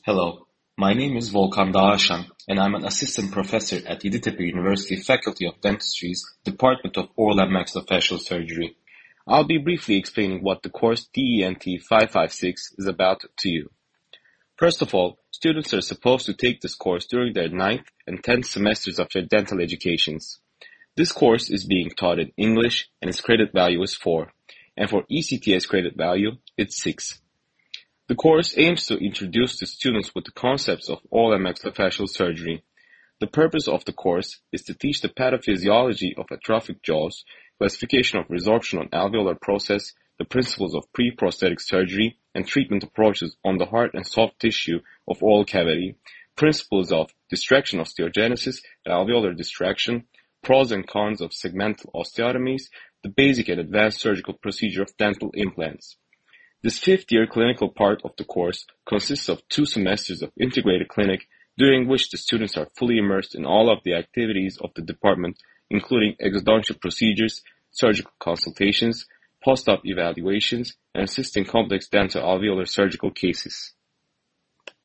Hello, my name is Volkan Dağaşan, and I'm an assistant professor at Yeditepe University Faculty of Dentistry's Department of Oral and Maxillofacial Surgery. I'll be briefly explaining what the course DENT 556 is about to you. First of all, students are supposed to take this course during their 9th and 10th semesters of their dental educations. This course is being taught in English and its credit value is 4, and for ECTS credit value, it's 6. The course aims to introduce the students with the concepts of oral and maxillofacial surgery. The purpose of the course is to teach the pathophysiology of atrophic jaws, classification of resorption on alveolar process, the principles of pre-prosthetic surgery, and treatment approaches on the hard and soft tissue of oral cavity, principles of distraction osteogenesis and alveolar distraction, pros and cons of segmental osteotomies, the basic and advanced surgical procedure of dental implants. This fifth-year clinical part of the course consists of 2 semesters of integrated clinic, during which the students are fully immersed in all of the activities of the department, including exodontial procedures, surgical consultations, post-op evaluations, and assisting complex dental alveolar surgical cases.